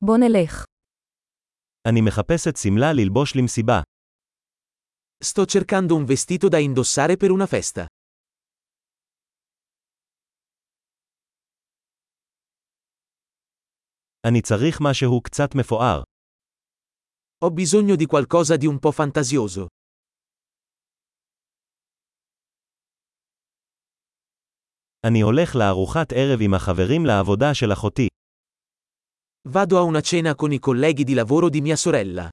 בוא נלך. אני מחפשת שמלה ללבוש למסיבה. Sto cercando un vestito da indossare per una festa. אני צריך משהו קצת מפואר. Ho bisogno di qualcosa di un po' fantasioso. אני הולך לארוחת ערב עם החברים לעבודה של אחותי. Vado a una cena con i colleghi di lavoro di mia sorella.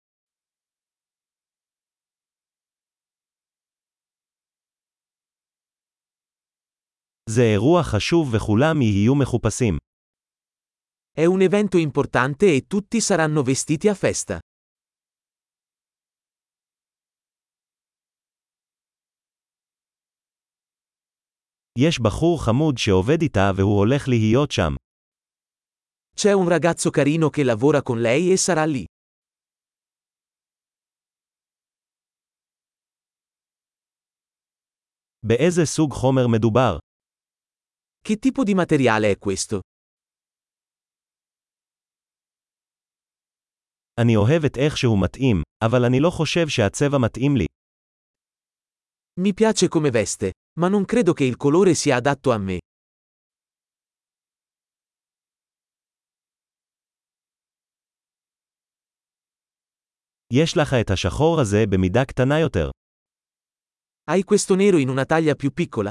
זה אירוע חשוב וכולם יהיו מחופשים. È un evento importante e tutti saranno vestiti a festa. יש בחור חמוד שעובד איתה והוא הולך להיות שם. C'è un ragazzo carino che lavora con lei e sarà lì. באיזה סוג חומר מדובר? Che tipo di materiale è questo? אני אוהב את איך שהוא מתאים, אבל אני לא חושב שהצבע מתאים לי. Mi piace come veste, ma non credo che il colore sia adatto a me. יש לך את השחור הזה במידה קטנה יותר. Hai questo nero in una taglia più piccola?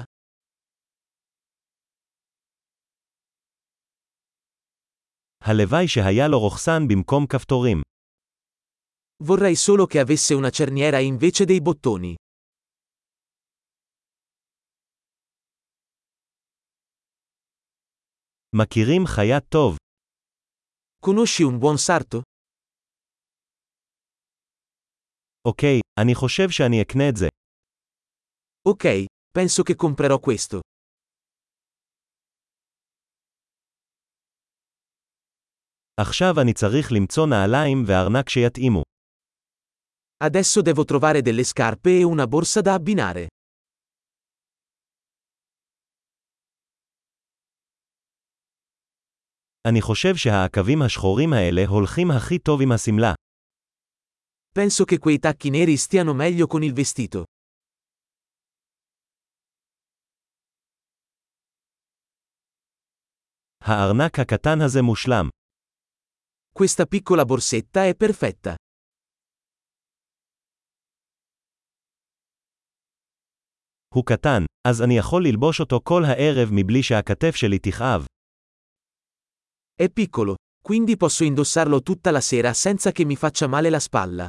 הלוואי שהיה לו רוכסן במקום כפתורים. Vorrei solo che avesse una cerniera invece dei bottoni. מכירים חיה טוב. Conosci un buon sarto? אוקיי, אני חושב שאני אקנה את זה. Ok, penso che comprerò questo. עכשיו אני צריך למצוא נעליים וארנק שיתאימו. Adesso devo trovare delle scarpe e una borsa da abbinare. אני חושב שהעקבים השחורים האלה הולכים הכי טוב עם השמלה. Penso che quei tacchi neri stiano meglio con il vestito. הארנק הקטן הזה מושלם. Questa piccola borsetta è perfetta. הוא קטן, אז אני יכול ללבוש אותו כל הערב מבלי שהכתף שלי תכאב. È piccolo, quindi posso indossarlo tutta la sera senza che mi faccia male la spalla.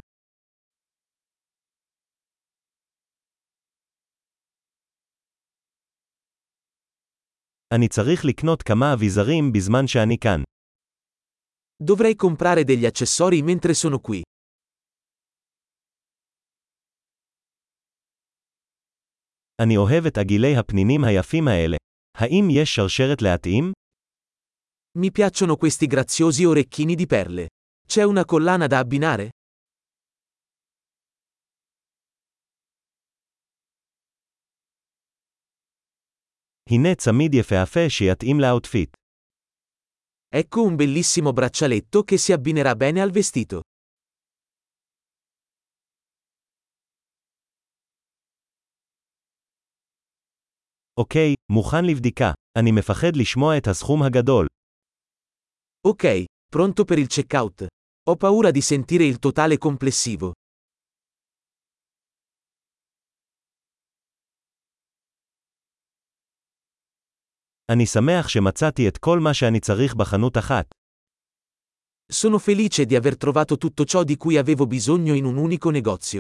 אני צריך לקנות כמה אביזרים בזמן שאני כאן. Dovrei comprare degli accessori mentre sono qui. אני אוהב את עגילי הפנינים היפים האלה. האם יש שרשרת להתאים? Mi piacciono questi graziosi orecchini di perle. C'è una collana da abbinare? הנה צמיד יפהפה שיתאים לאוטפיט. Ecco un bellissimo braccialetto che si abbinerà bene al vestito. אוקיי, מוכן לבדיקה. אני מפחד לשמוע את הסכום הגדול. Ok, pronto per il checkout. Ho paura di sentire il totale complessivo. אני שמח שמצאתי את כל מה שאני צריך בחנות אחת. Sono felice di aver trovato tutto ciò di cui avevo bisogno in un unico negozio.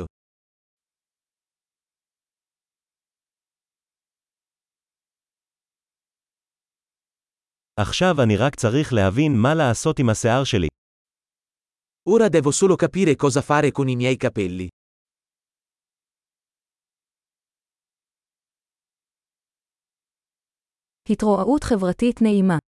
עכשיו אני רק צריך להבין מה לעשות עם השיער שלי. Ora devo solo capire cosa fare con i miei capelli. התרועעות חברתית נעימה.